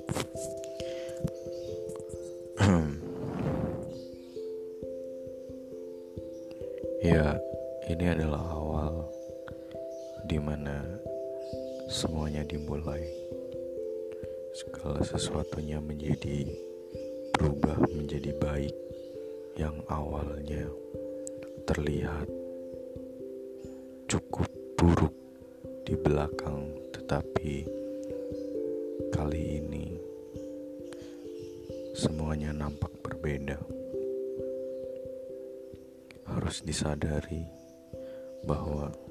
Ya, ini adalah awal dimana semuanya dimulai. Segala sesuatunya berubah menjadi baik. Yang awalnya terlihat cukup buruk di belakang, tetapi kali ini semuanya nampak berbeda. Harus disadari bahwa